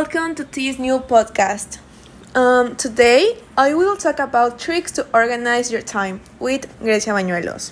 welcome to this new podcast. Today, I will talk about tricks to organize your time with Grecia Bañuelos.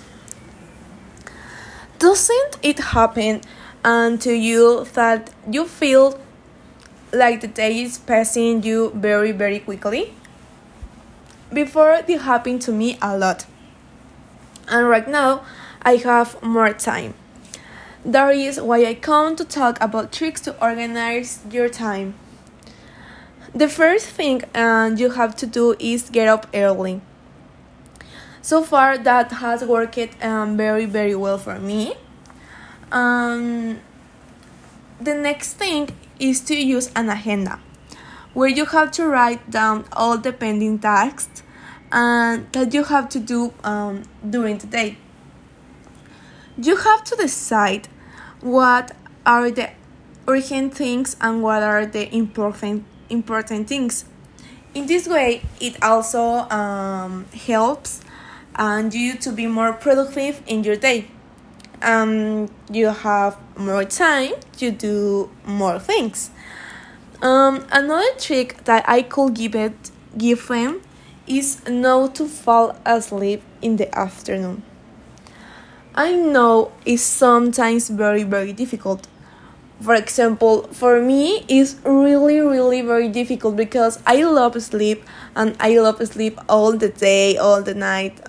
Doesn't it happen to you that you feel like the day is passing you very, very quickly? Before, it happened to me a lot. And right now, I have more time. That is why I come to talk about tricks to organize your time. The first thing you have to do is get up early. So far, that has worked very, very well for me. The next thing is to use an agenda, where you have to write down all the pending tasks that you have to do during the day. You have to decide what are the urgent things and what are the important things. In this way, it also helps you to be more productive in your day. You have more time to do more things. Another trick that I could give them is not to fall asleep in the afternoon. I know it's sometimes very, very difficult. For example, for me, it's really, really very difficult because I love sleep and I love sleep all the day, all the night.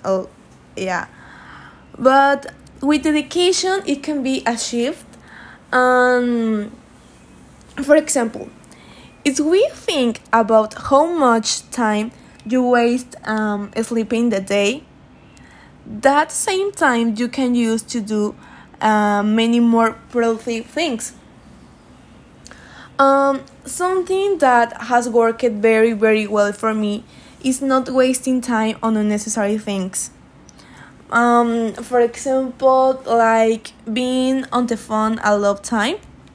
But with dedication, it can be achieved. For example, if we think about how much time you waste sleeping the day, that same time you can use to do many more productive things. Something that has worked very, very well for me is not wasting time on unnecessary things. For example, like being on the phone a lot of time.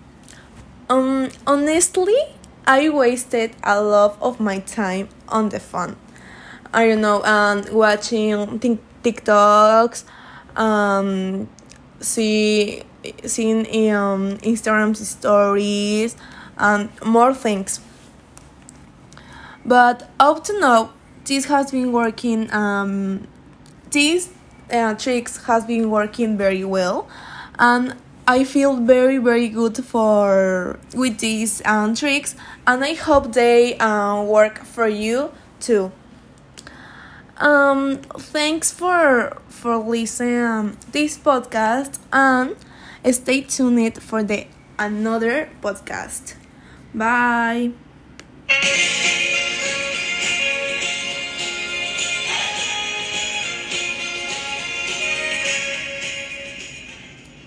Honestly, I wasted a lot of my time on the phone. I don't know, watching TikToks, seeing Instagram stories, and more things. But up to now, this has been working. These tricks has been working very well, and I feel very, very good with these tricks, and I hope they work for you too. Thanks for listening this podcast, and stay tuned for the another podcast. Bye.